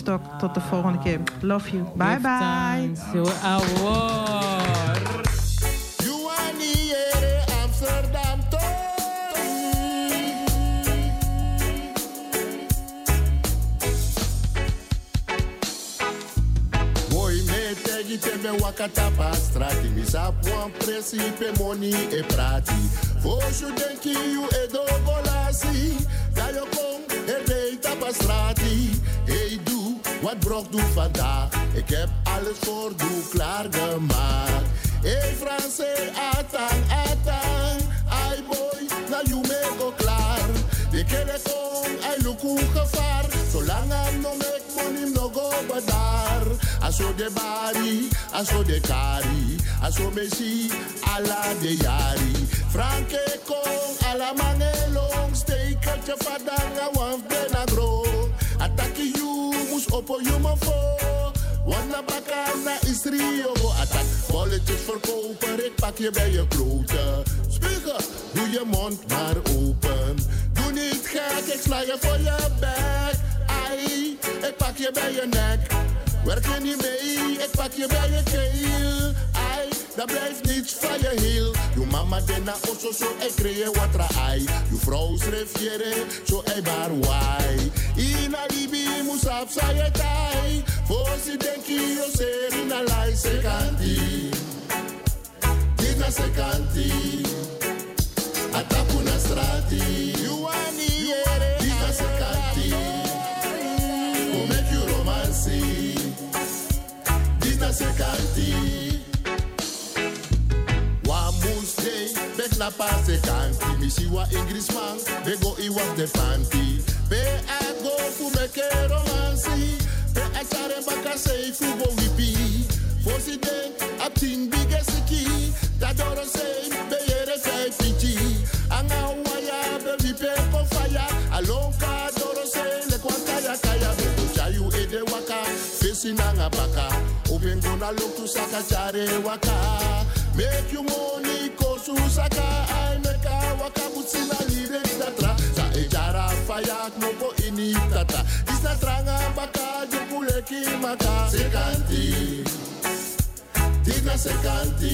Woodstock. Tot de volgende keer. Love you. Bye bye. Amsterdam me wakata pa strati mi sapuan principe money e prati Foshu denki you e dogolasi da yo kom e deita pa strati hey doe wat brok doe vandaag ik heb alles voor doe klaar gemaakt hey Franse atang ai boy na you me go klaar de kere kom ai luku gevaar zolang am no make money no go badar aso de bari aso de kari aso mesi ala de yari franke kon ala mangelong steek at je fadanga waf benagro ataki you mus opo you mafo wanna bakana is rio attack bolletjes verkopen ik pak je bij je kloten spiegel doe je mond maar open doe niet gek ik sla je voor je bek ai ik pak je bij je nek werk je niet mee, ik pak je bij je keel. Ai, dat blijft niets van je heel. Je mama dena osso zo, ik kreeg wat ra ai. Je vrouw schreef je zo ei bar wai. Ina libi musaf sa je tai. Voor si denki yo ser ina lai sekanti. Dina sekanti. Atapu na strati. You ani yere. Dina sekanti. Go make you romancy. Sekanti wa musde bek na pa sekanti misi wa Ingrisman be go I wa de fanti be a go fu me ke romansi be a chare baka sei fu go wipi fosi den a ting bigesiki da doro sei be yere sei pichi anga wa ya be wipe ko fire alonka doro sei le kwanta ya kaya be go chayu e de waka fesi nanga baka Open gonna look to saka chare waka. Make you money kosu saka. I make a waka butsina lyrics datra. Sa ejara fayak moko ini tata. Isna tranga baka jupuleki maka. Sekanti. Tina sekanti.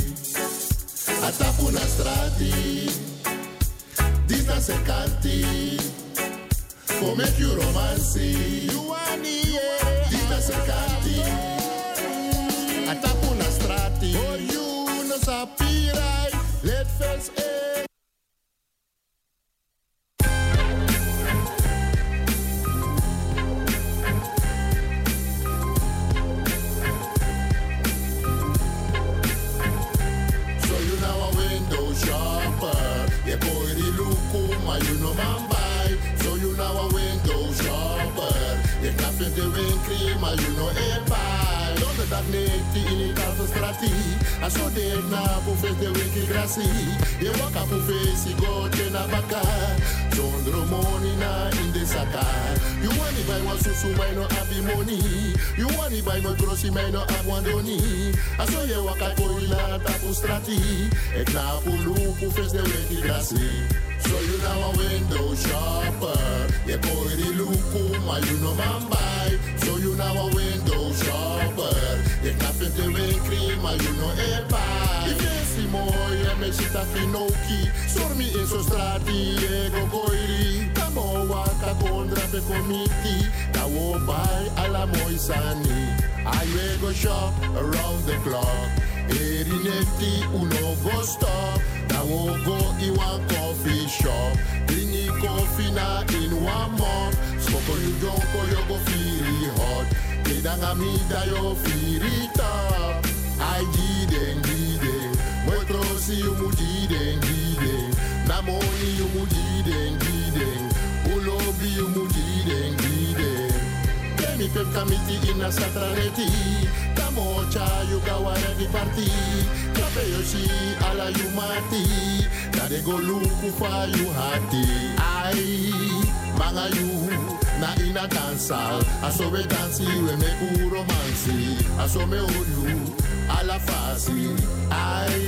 Atapu na strati. Tina sekanti. For make you romancy. You ani Tina sekanti. Atapu na strati, oh you no sapirai, let fels e. So you now a window shopper, you boy the look ma you no man buy. So you now a window shopper, you can't the wing cream ma you no e buy. Dat neemt in een kalverstrati. Als je denkt na poefes de winkel grassi. Je waka poefes je gote na baka. Zonder money na in de zaka. You want it by one susu mij no abi money. You want it by no grossi mij no abwandoni. Als je waka koila tapu strati. Ik na pulu poefes de winkel grassi. So you now a window shopper. Je boy die luku, maar you no man buy. So you now a window shopper. Je knapt in de winkel, maar you no e buy. Die fancy mooi en me zit a finoki. Sormi in zo strati, e go goiri. Kamo waka kondra pe komiti. Da wo buy alla mooi sani. I will go shop around the clock. Erineti uno go stop. Da wo go in one coffee shop. Drinki koffie na in one mop. Smoko you donko you go feel hot. Kedanga mi da yo feel top. I giden. Moi trosi you mu giden. Na money you mu giden. Ulobi you mu giden. Mi pep kamiti ina satraneti. Kamocha you gawara di parti. Kape yoshi ala you mati. Kade go luku fa you hati. Ai manga you na ina dansal. Aso we dansi we me ku romansi. Aso me olu ala fasi. Ai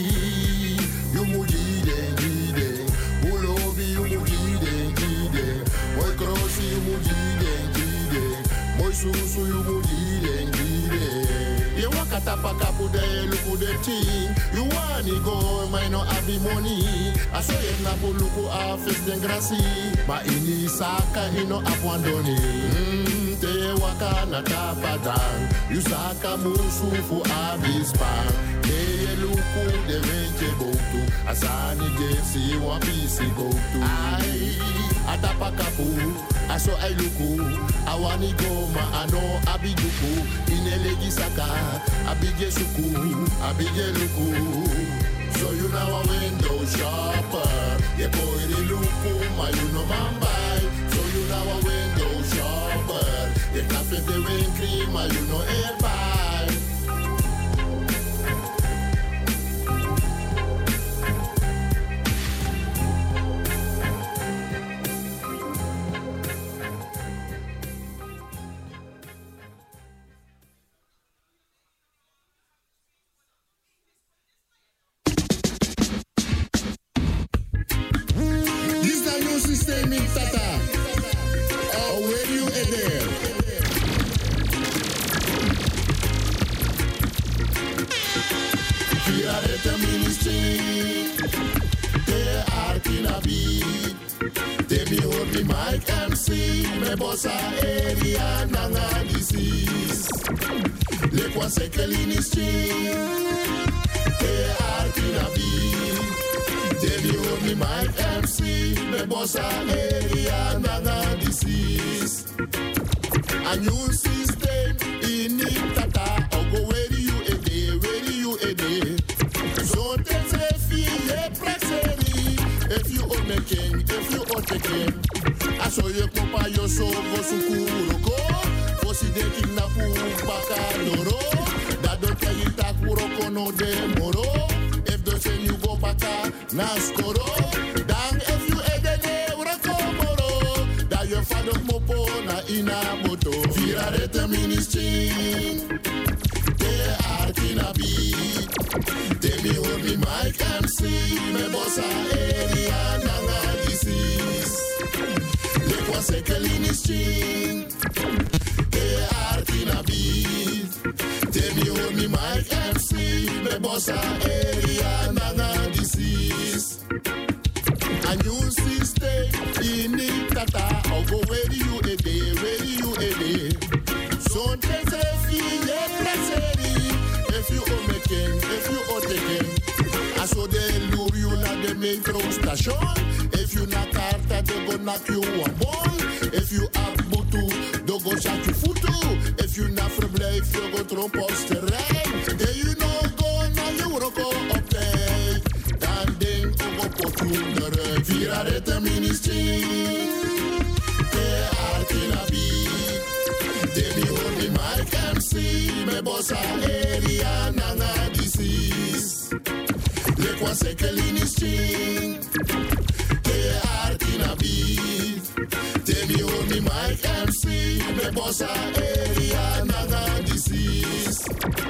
you mu giden. Ulobi you mu giden. Moi crossi you mu giden. Moi boy susu you mudile. You walk at a pakapu de luku de ting. You want to go, my no have money. I saw it na puluku a fes den grassi. Ma ini saka ino apwandoni. Te waka na tapadang. You saka musu fu abispan. Te luku de venche botu. Asani jesi wapisi botu. Ai, atapakapu. Aso ai luku. Awani go ma ano abiduku. Inelegi saka. Abige suku, abige luku. So you now a window shopper. You boy the luku, ma you know man buy. So you now a window shopper. You cafe the rain cream, ma you know air buy. Bossa area nanga disease. Le kwa sekelini street. Te artina bi. Tell you only my MC. Me bossa area nanga disease. A new system in it tata. I'll go where you a day, where you a day. So tell if you presseri. If you own a king, if you own a king. Aso ye kopa yo so go sukuro ko. Fosi de kidnapu bakadoro. Da do te yita kuro kono de moro. If do say you go baka naskoro. Dang if you edene urako moro. Da yo fado mopo na ina moto. Vira rete ministry. Te artina beat. Te mi only Mike MC. Me bossa area nanga disease. Sekelini string. Te artina beat. Te mi only Mike MC. Me bossa area nanga disease. A new system in it tata. I'll go where you a day, where you a day. So te se fie presseri. If you own a king, if you own a king. I saw they lure you na the metro station. If you na carta, they go knock you a ball. If you have butu, they go shot you futu. If you na verblijf, you go trompos terrein. Then you know go na you roko op day. Dan ding go potu de vira rete ministry. Te artina bi. Te mi only Mike MC. Me bossa area nanga disease. Le kwa sekelini string. Te artina beat. Te mi only Mike MC. Me bossa area nanga disease.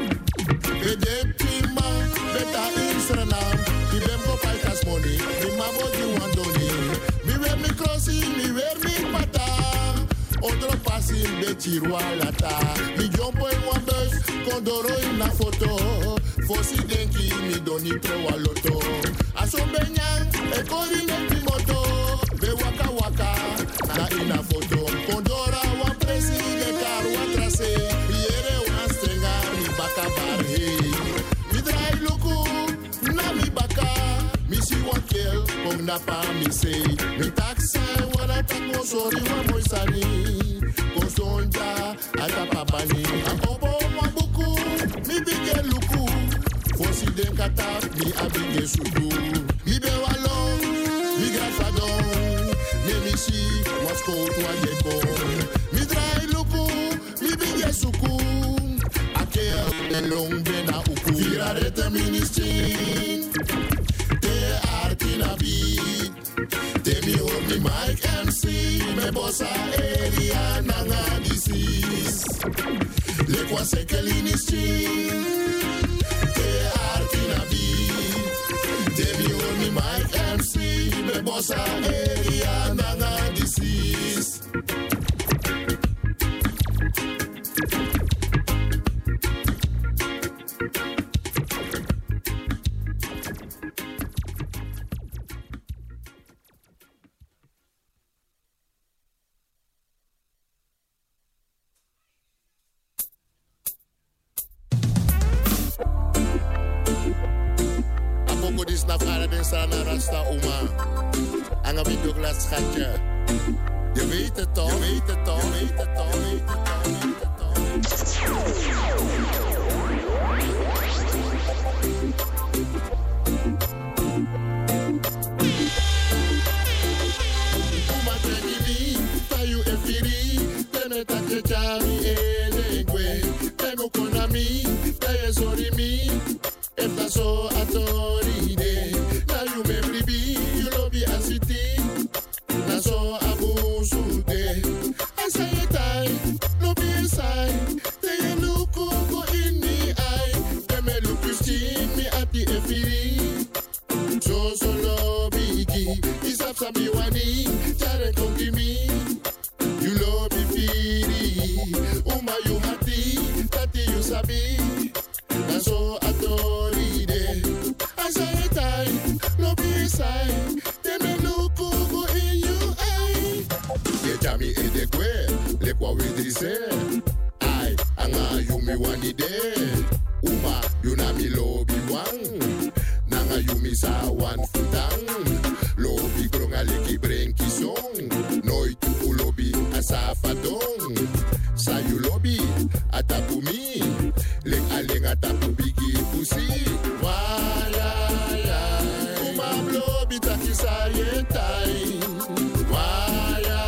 E de prima beta in Suriname. Mi bem go palkas money. Mi mabo di wandoni. Mi wear mi crossi, mi wear mi pata. Otro passi de chirualata. Mi jumpo in one bus. Kondoro in na foto. Fosi denki mi doni pro waloto. Aso benyang e kori neti moto. Be waka waka na ina foto. Kondora wan presi de kar wan trase. Yere wan stenga mi baka bar hey. Mi drai luku na mi baka. Mi si wan kel kong na pa mi say. Mi taxa wana tak mo sorry wan moy sani. Konsonja ata papani. Apopo wan buku mi bige luku. Fosi den katap mi abige suku. Mi be walon, mi grafadon. Ne mi si wasko to yeko. Mi drai luku, mi bige suku. Ake elong bena uku. Vira rete ministry. Te artina beat. Te mi only Mike MC. Me bossa area nanga disease. Le kwa sekelini string. Artina beat. Te mi only Mike MC. Me bossa area nanga disease. Godis na fara den sana rasta uma. Anga wie Douglas schatje. Je weet het toch, je weet het toch, je weet het toch, je weet het toch, je weet het toch. Uma treni tayu efiri, teme take chami elegwe, temo konami, taye sorry mi, efta so atoride, na you me bribi, you lobby asiti, na so abusude, asayetai, lobby sai, taye luku go inni ai, teme luku mi ati efiri, so lobby ki, isap sabi wani, chare kongimi, you lobby firi, uma you hati, tati you sabi, na so atoride, asayetai, lobby sai, teme luku go in you ai, ye chami edekwe, lekwa wedrise, ai, anga you mi wani de, uma you na mi lobby wang, nanga you mi sa wan futang, lobby gronga leki brenki song, nooit u lobby asafadong, sa you lobby atapumi, lek aleng atapu bigi pusi, waya, uma lobby takisa yetai, waya,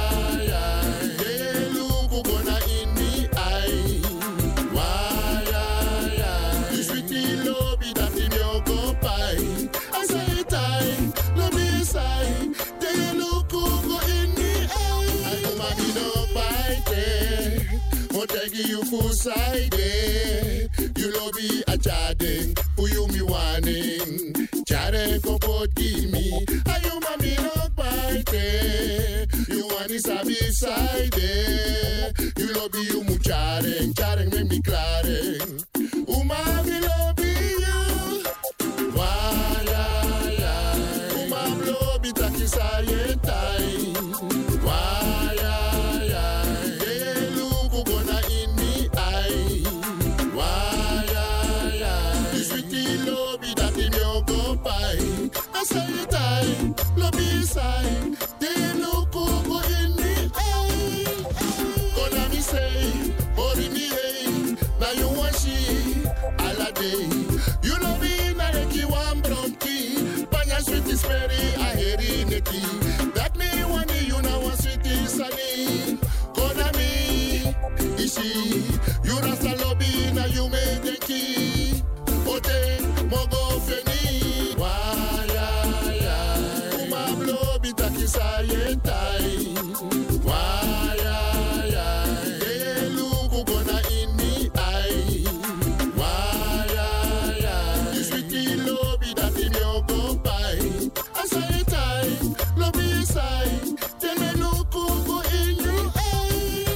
luku gona inni ai, waya, you sweetie lobby tati nyoko pai, asaitai, lobby sai, te luku go inni ai, ay umami no pai te, motegi you fusaide, you lobby a chading, puyu mi waning, chare kopot gimi, ay umami no pai te, you wani sabi side, you lobby you mu charing me mi claring, umami lobby you, waya, umami lobby takisa yetai, waya, luku gona inni ai, waya, you sweetie lobby dati nyoko pai, asayetai, lobby sai, te luku go inni ai, gonna me say, ori mi hey, na you want she, ala day, you lobby na reki wan bronki, panya sweetie sperry a heri neki, that me wani you na wan sweetie sunny, gonna me, ishi, you rasta lobby na you me denki, ote mogo feni, waya, uma lobby takisa yetai, waya, luku gona inni ai, waya, you sweetie lobby dati nyoko pai, asayetai, lobby sai, teme luku go in you ai,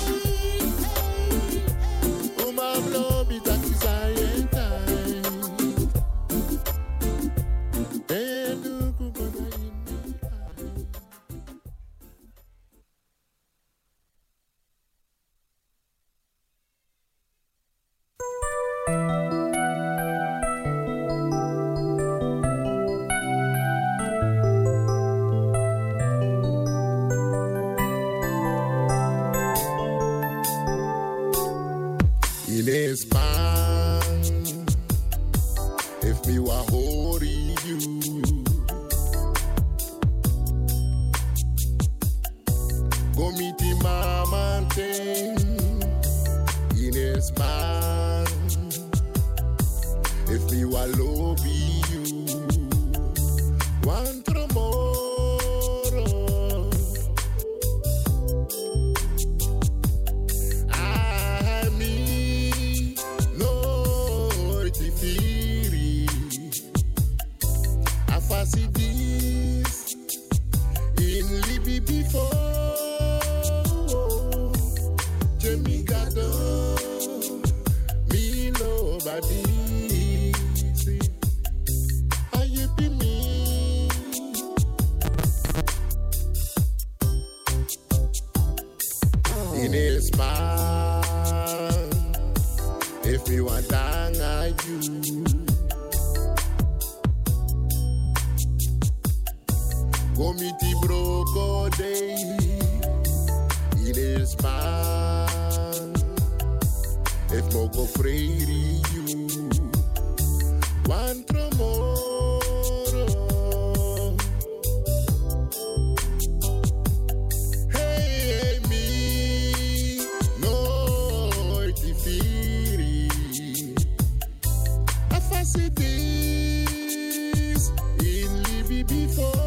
uma lobby takisa yetai, te luku gona inni ai. In a span, if me wa hori you, go meet the mama thing. In a span, if me wa lobby you, one tomorrow. I me no tifiri, I fancy this in Libby before. Jimmy Gado, me nobody. See, I you be me. In a span, if you want down, I you. Committee broko day in his man. If mogo free you want tomorrow. Hey me no tifiri. Afasitis in Libby before.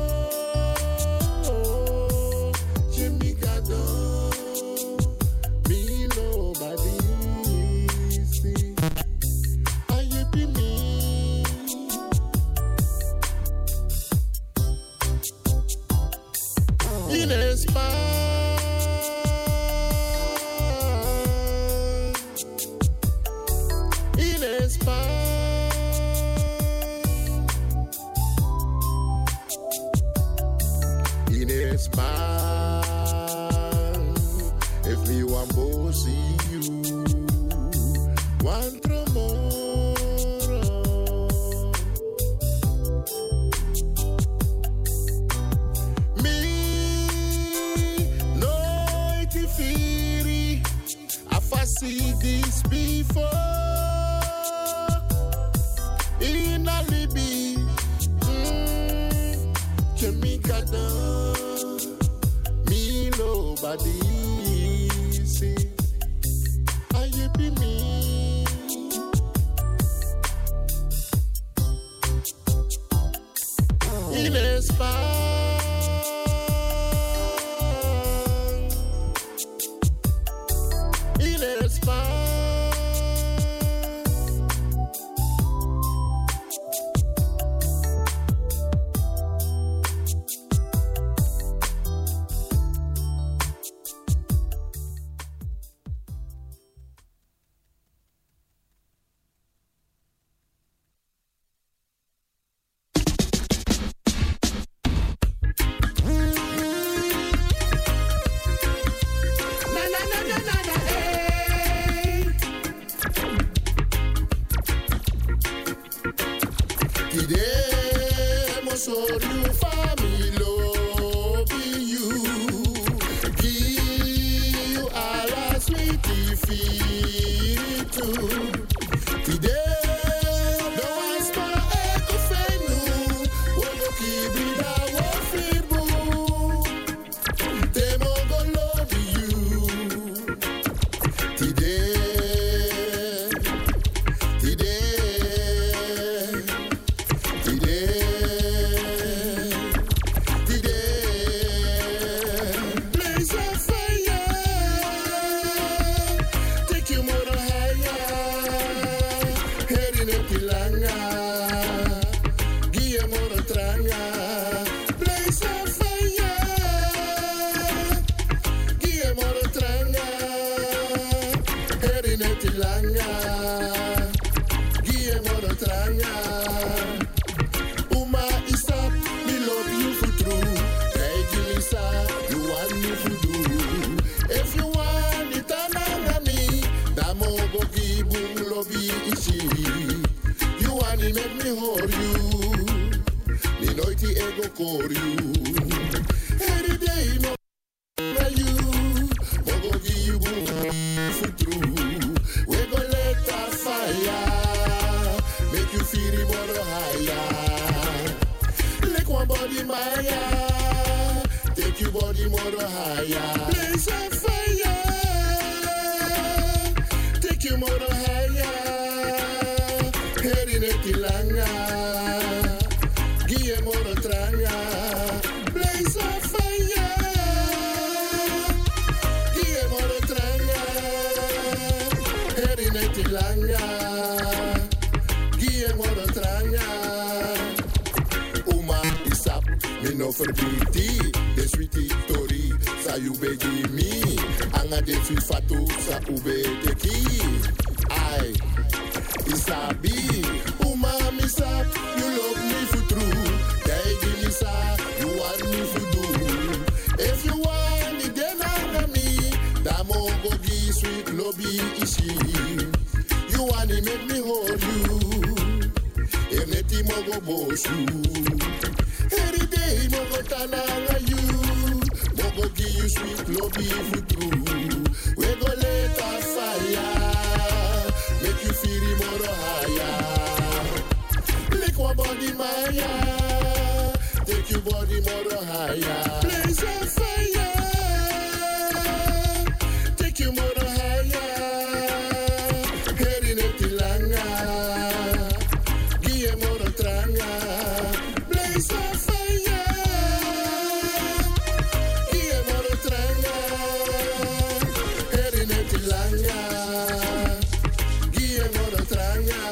See this before in a Libby, Jamaica, me nobody see. I be me. In a spa. Mogo Boshu. Every day Hey, mogo tananga you. Mogo give you sweet love if you true. We go let a fire. Make you feel the more higher. Lick one body Maya. Take your body more higher. Blaze a fire. Take you more higher. Head in it langa. Give more tranga. Blaze a fire. Give more tranga. Head in it langa. Give more tranga.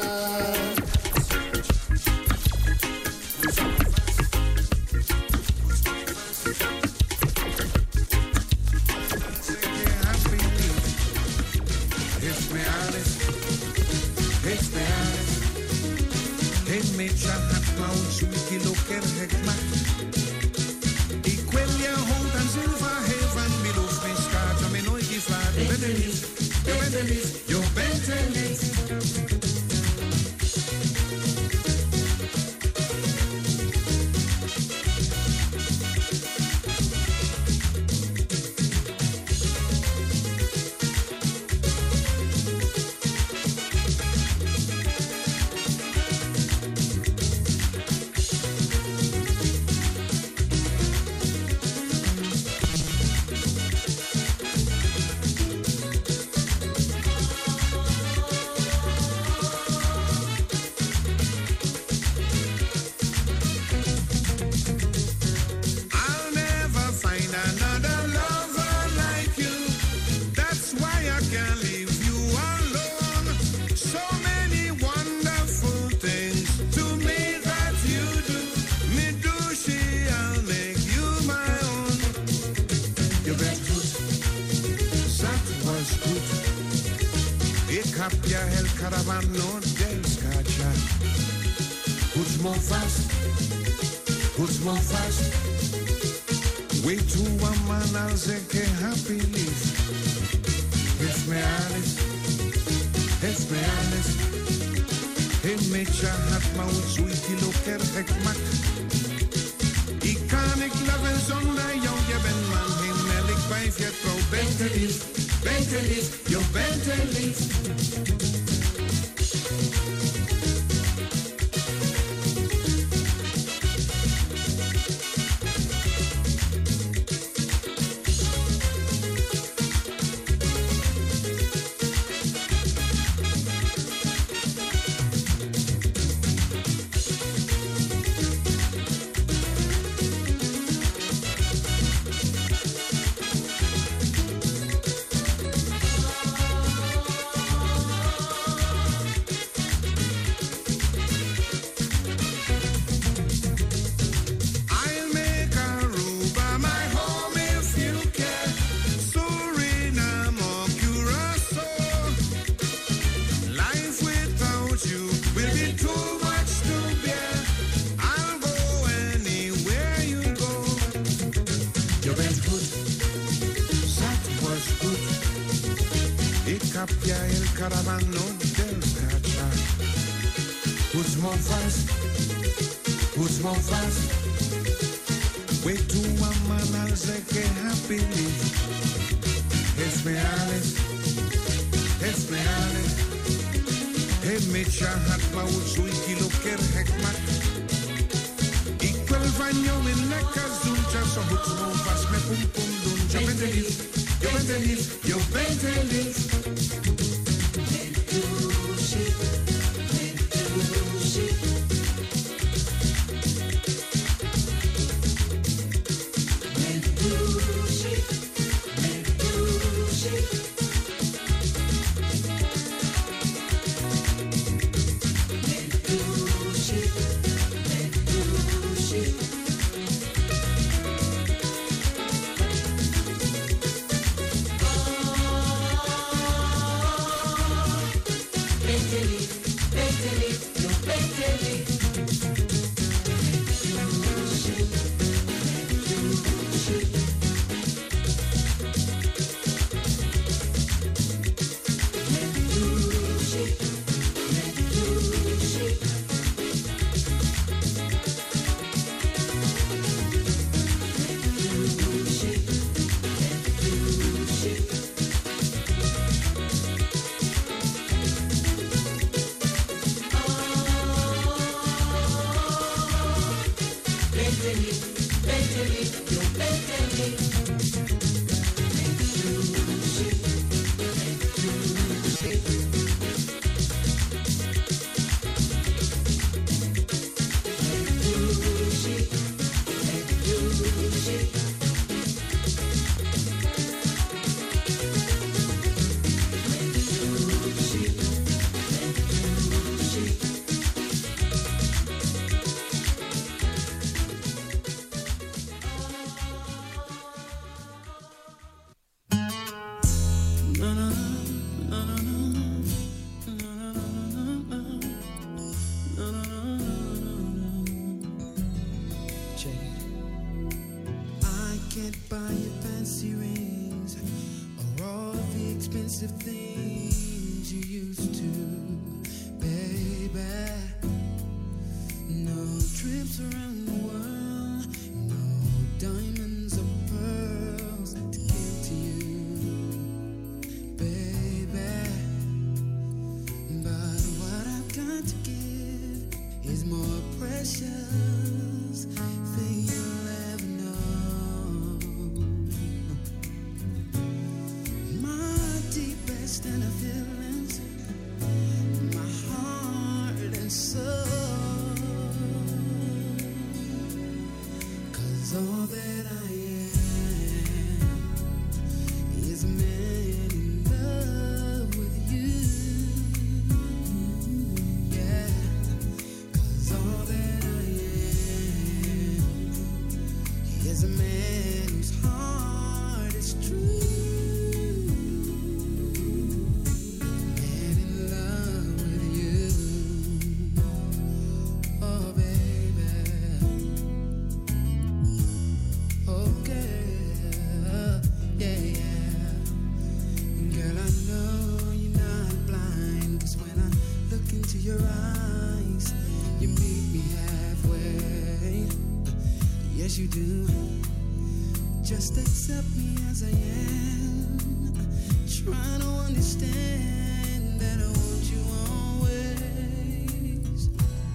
as you do. Just accept me as I am. Trying to understand that I want you always.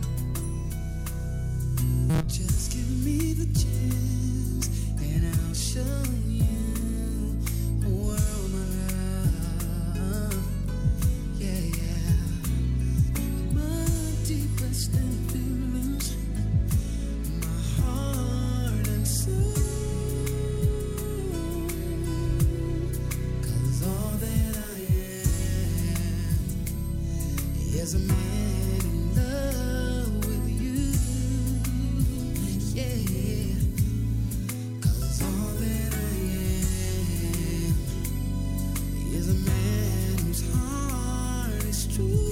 Just give me the chance and I'll show you a world, my love. Yeah, yeah. My deepest feelings, my heart and soul. All that I am is a man in love with you. Yeah, 'cause all that I am is a man whose heart is true.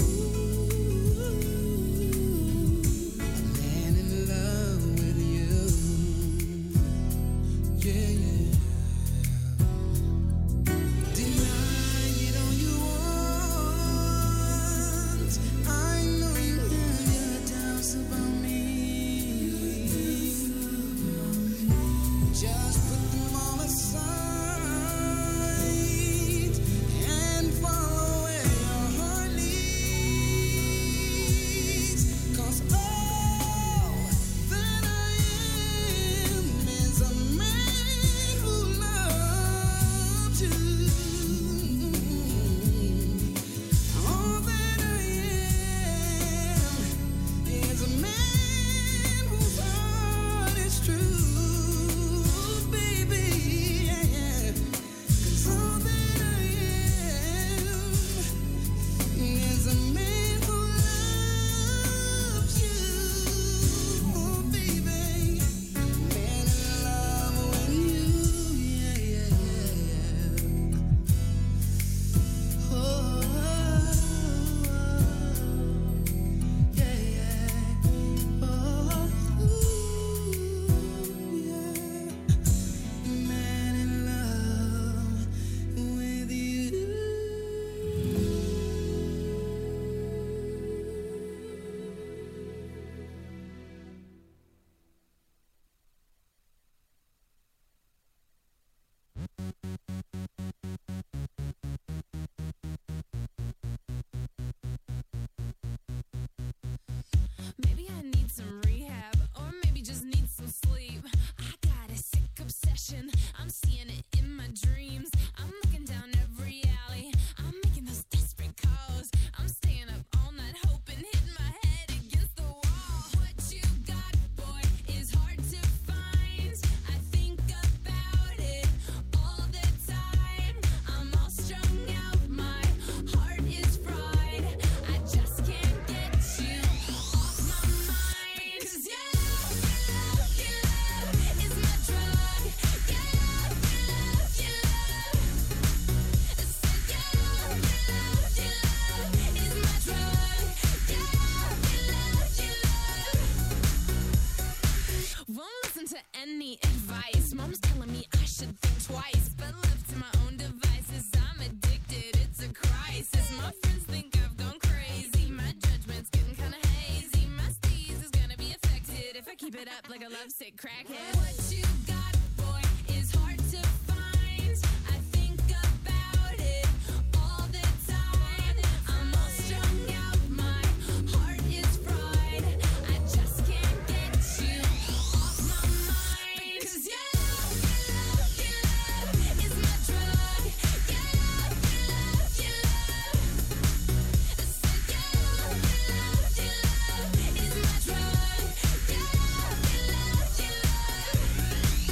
A man in love with you. Yeah, yeah. I'm seeing it in my dreams. I'm looking down every alley. I'm making those desperate calls. I'm staying up all night hoping, hitting my head against the wall. What you got, boy, is hard to find. I think about it all the time. I'm all strung out, my heart is fried. I just can't get you off my mind. Because your love is my drug. Your love is my drug. Won't listen to any advice. Mom's telling me I should think twice, but left to my own devices, I'm addicted. It's a crisis. My friends think I've gone crazy. My judgment's getting kind of hazy. My steez is gonna be affected if I keep it up like a lovesick crackhead. What you got, boy, is hard to find. I think about it all the time. I'm all strung out, my heart is fried. I just can't get you off my mind. 'Cause your love is my drug. Your love is my drug. Your love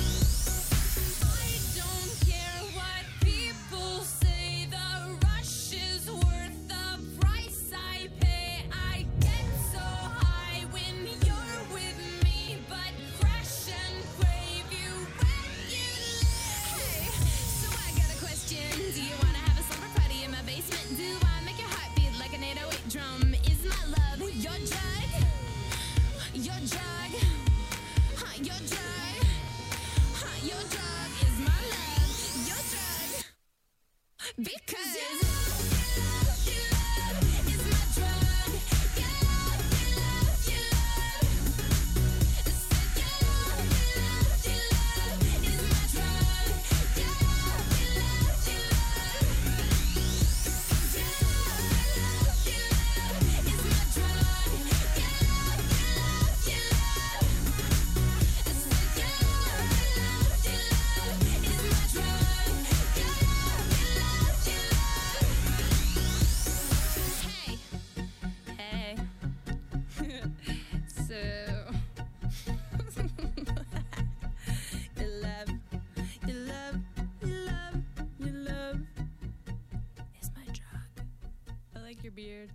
like your beard.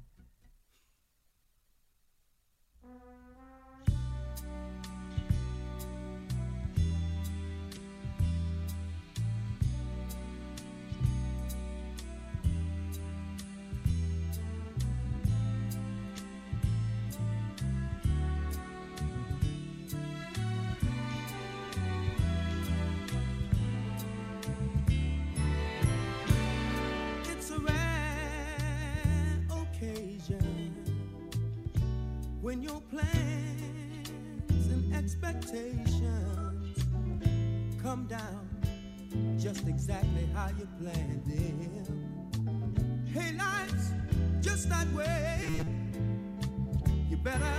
When your plans and expectations come down just exactly how you planned them. Hey, life's just that way. You better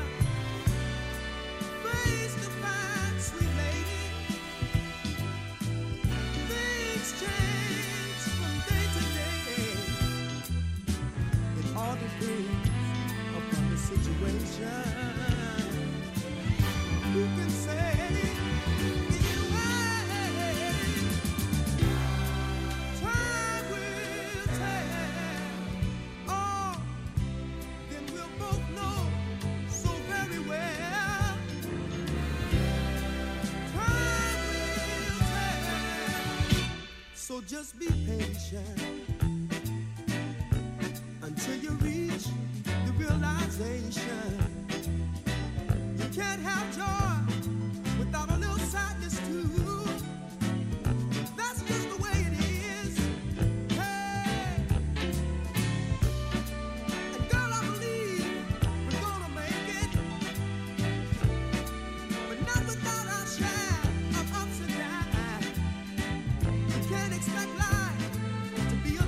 face the facts, sweet lady. Things change from day to day. It all depends upon the situation. Who can say anyway? Time will tell. Oh, then we'll both know so very well. Time will tell. So just be patient until you reach the realization you can't have joy without a little sadness too. That's just the way it is. Hey, and girl, I believe we're gonna make it, but not without our share of ups and downs. You can't expect life to be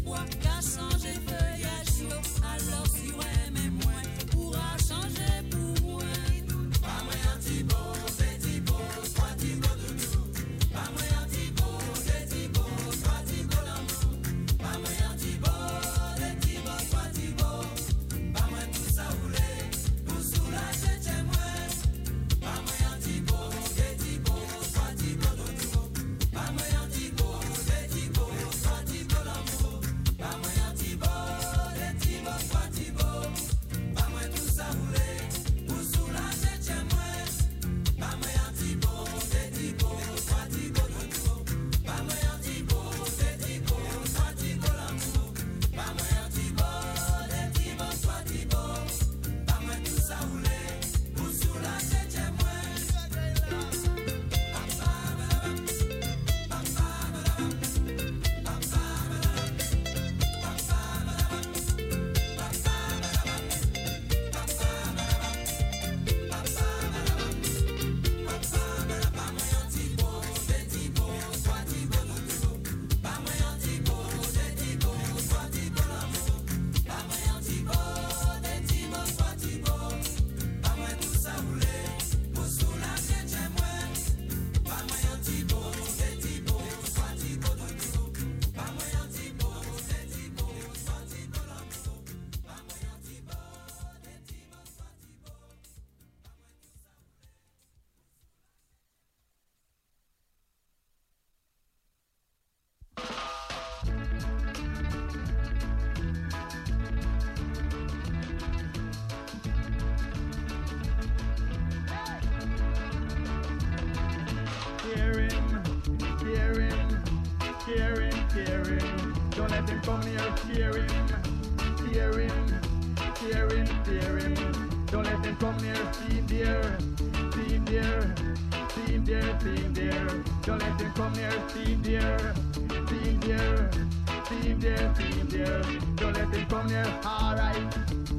bois qu'a changé feuillage yo. Alors si ouais mais moins pourra changer pour moi. Pas moi antibo, c'est tibo, soit tibo doudou. Pas moi antibo, c'est tibo, soit tibo l'amour. Pas moi antibo, c'est tibo, soit tibo. Pas moi tout ça roulé, pour soulager chez moi. Pas moi antibo, c'est tibo, soit tibo doudou. Pas moi antibo, c'est tibo, soit tibo l'amour. Pas moi antibo, c'est tibo, soit tibo. Pas moi tout ça roulé, pour soulager chez moi. Pas moi antibo, c'est tibo, soit tibo doudou. Pas moi antibo, c'est tibo, soit tibo l'amour. Pas moi antibo, c'est tibo, soit tibo. Pas moi tout ça roulé, pour soulager chez moi. Hear him. Don't let him come near. Hear him. Don't let him come near. See him there. Don't let him come near. See him there. Don't let him come near. All right.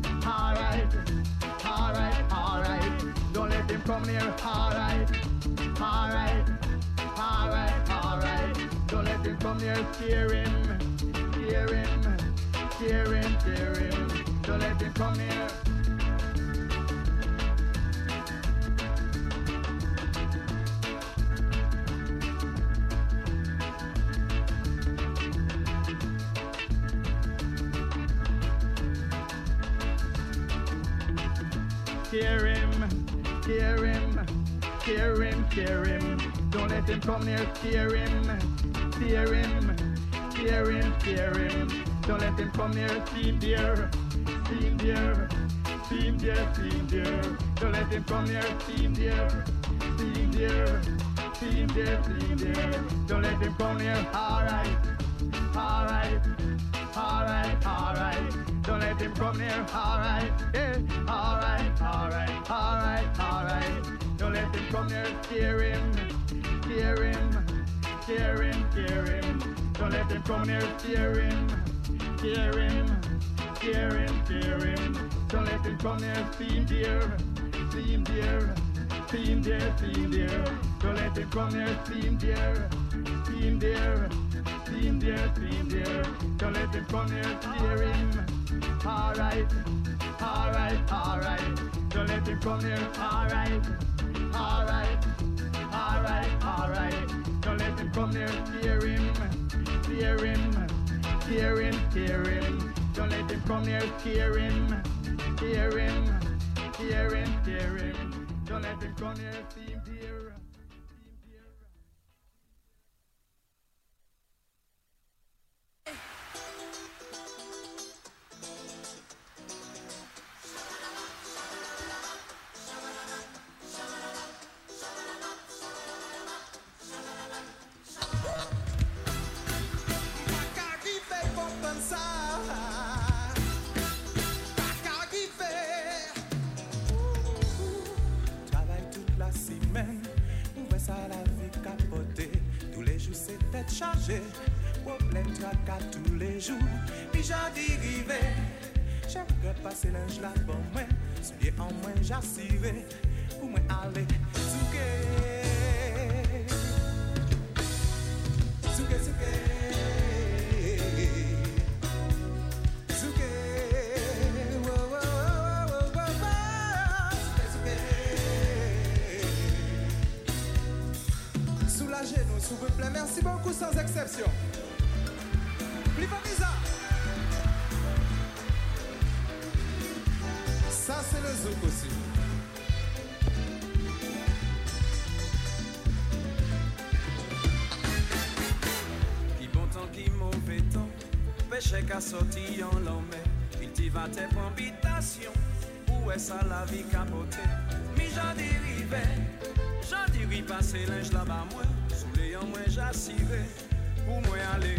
Don't let him come near. All right. Don't let him come near. Hear him. Don't let him come near. Hear him. Don't let him come near. Hear him. Don't let him come near. See him there. Don't let him come near. See him there. Don't let him come near. All right. Don't let him come near. All right. Don't let him come near. Hear him. Don't let him come near. Hear him. Don't let him come near. See him there. Don't let him come near. See him there. Don't let him come near. Hear him. All right. Don't let him come near. All right. Don't let him come near. Hear him. Don't let him come near. Hear him. Don't let him come near. See him there. Chargé, problème tracas tous les jours, puis j'en dérivé. Chaque passé linge là pour moi, si bien en moins j'assiré, pour moi aller souké. sans exception. Plivaniza. Ça c'est le zouk aussi. Qui bon temps, qui mauvais temps, péché qu'à sortir en l'emmène. Il t'y va tes pour habitation. Où est ça la vie capotée? Mais j'en dérive passer linge là-bas moi. Sous les en moins j'assiré. Pour moi aller.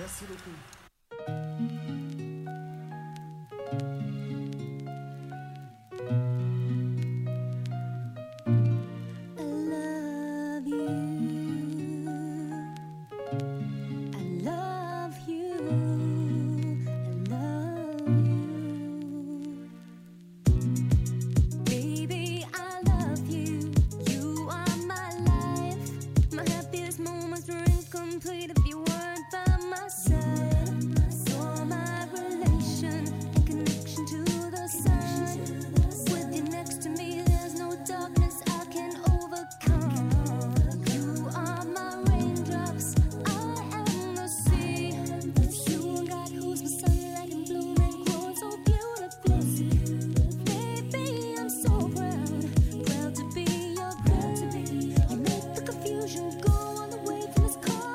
Merci beaucoup. Complete if you weren't by my side. You're my relation, a connection to the sun. With you next to me, there's no darkness I can overcome. You are my raindrops, I am the sea. With you, God, who's my sunlight and bloom and grow so beautifully. Baby, I'm so proud to be your girl. You make the confusion go all the way from this cold.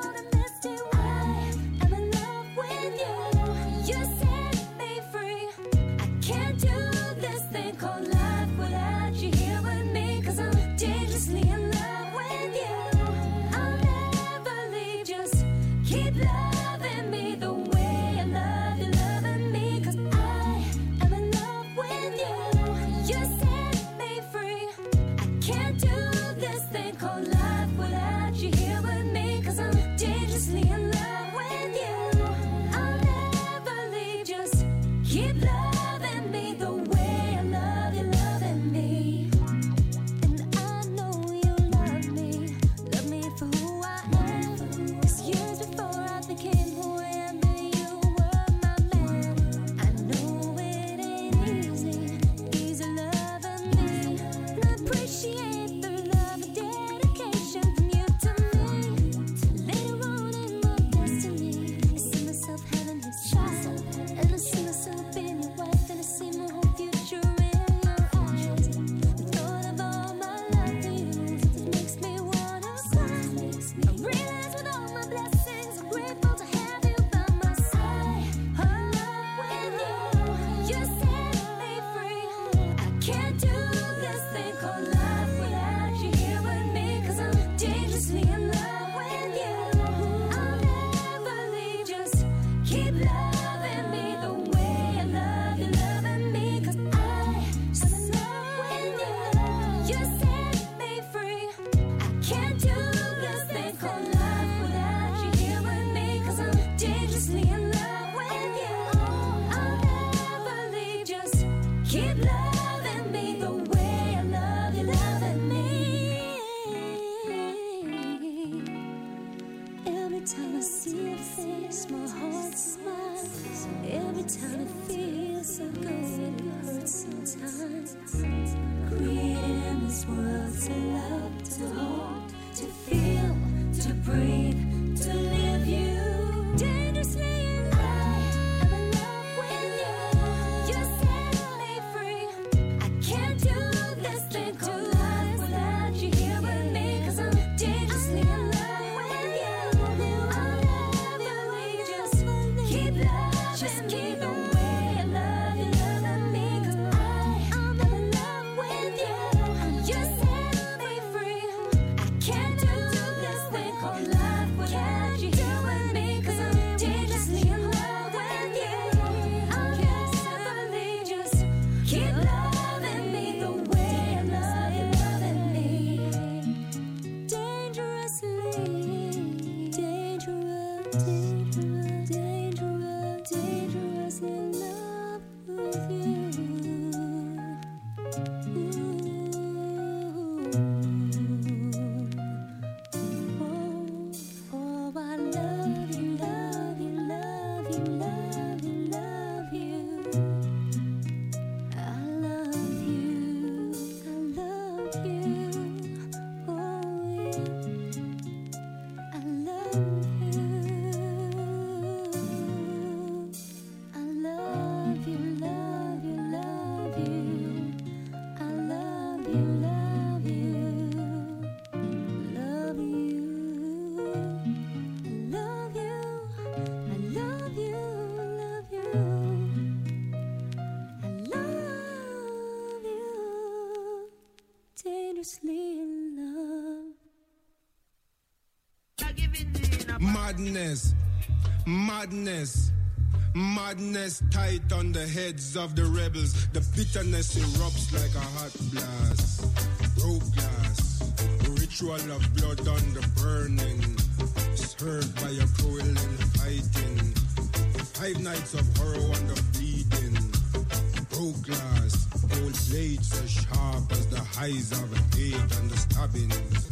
Madness. Madness. Madness tight on the heads of the rebels. The bitterness erupts like a hot blast. Broke glass, ritual of blood on the burning. Served by a cruel and fighting. 5 nights of horror on the bleeding. Broke glass, old blades as sharp as the highs of hate and the stabbings.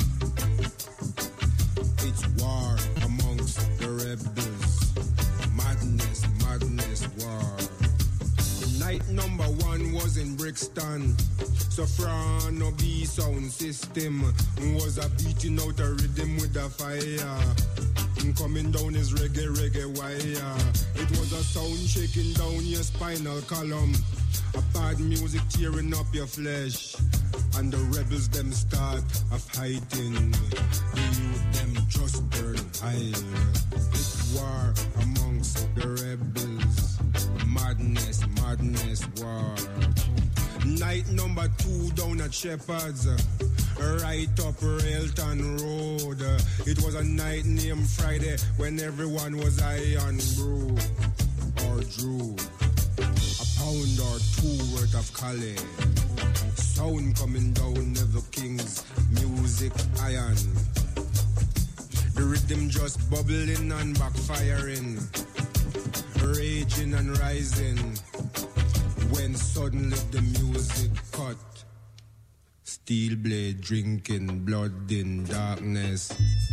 It's war amongst the rebels. Madness, madness, war. Night number 1 was in Brixton. Soprano B sound system was a beating out a rhythm with a fire. Coming down his reggae, reggae wire. It was a sound shaking down your spinal column. A bad music tearing up your flesh. And the rebels them start a fighting. The youth them just burn high. It's war amongst the rebels. Madness, madness, war. Night number 2 down at Shepherd's. Right up Railton Road. It was a night named Friday when everyone was high on brew or drew. A pound or 2 worth of Cali. Sound coming down Neville King's music iron. The rhythm just bubbling and backfiring. Raging and rising. When suddenly the music cut. Steel blade drinking blood in darkness.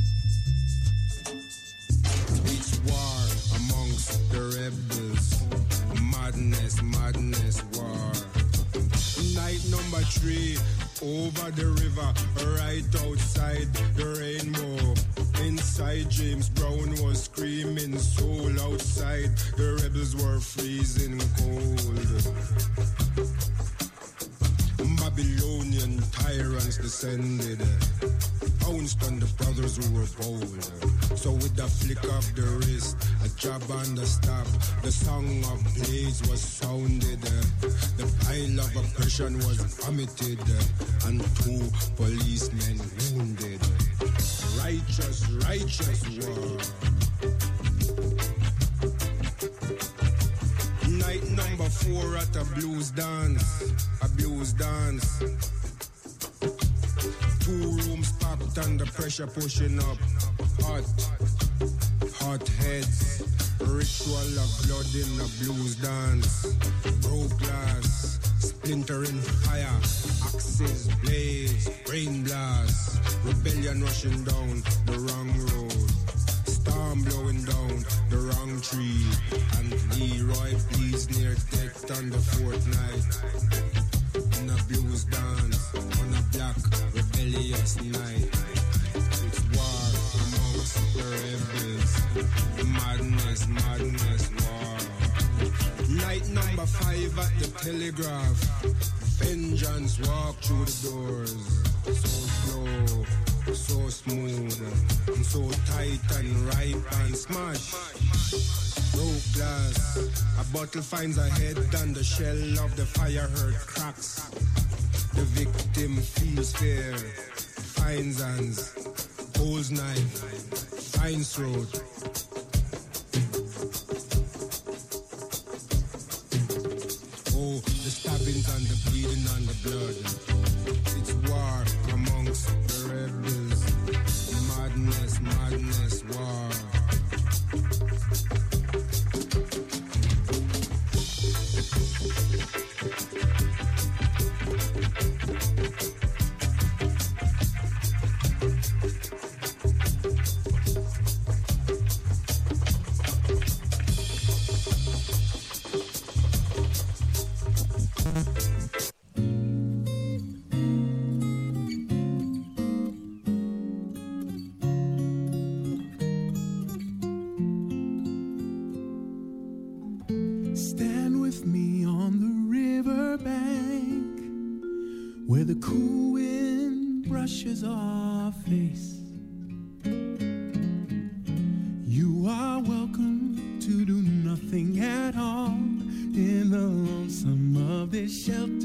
It's war amongst the rebels. Madness, madness, war. Night number 3 over the river, right outside the rainbow. Inside James Brown was screaming soul. Outside the rebels were freezing cold. Babylonian tyrants descended, pounced on the brothers who were bold. So with a flick of the wrist, a jab on the stop, the song of blades was sounded. The pile of oppression was vomited, and 2 policemen wounded. Righteous, righteous war. Night number 4 at a blues dance. A blues dance. 2 rooms packed and the pressure pushing up. Hot, hot heads. Ritual of blood in a blues dance. Broke glass, splintering fire. Axes, blades, brain blast. Rebellion rushing down the wrong road. Storm blowing down the wrong tree. And Leroy bleeds near death on the 4th night. In a blues dance, on a black rebellious night. It's war amongst the rebels. Madness, madness, war. Night number 5 at the Telegraph. Vengeance walk through the doors. So slow, so smooth, and so tight and ripe and smash. Broke glass, a bottle finds a head and the shell of the fire hurt cracks. The victim feels fear, finds hands, holds knife, finds throat. Oh, the stabbings and the bleeding and the blood. It's war amongst the rebels. Madness, madness, war. Stand with me on the riverbank where the cool wind brushes our face. You are welcome to do nothing at all in the lonesome of this shelter.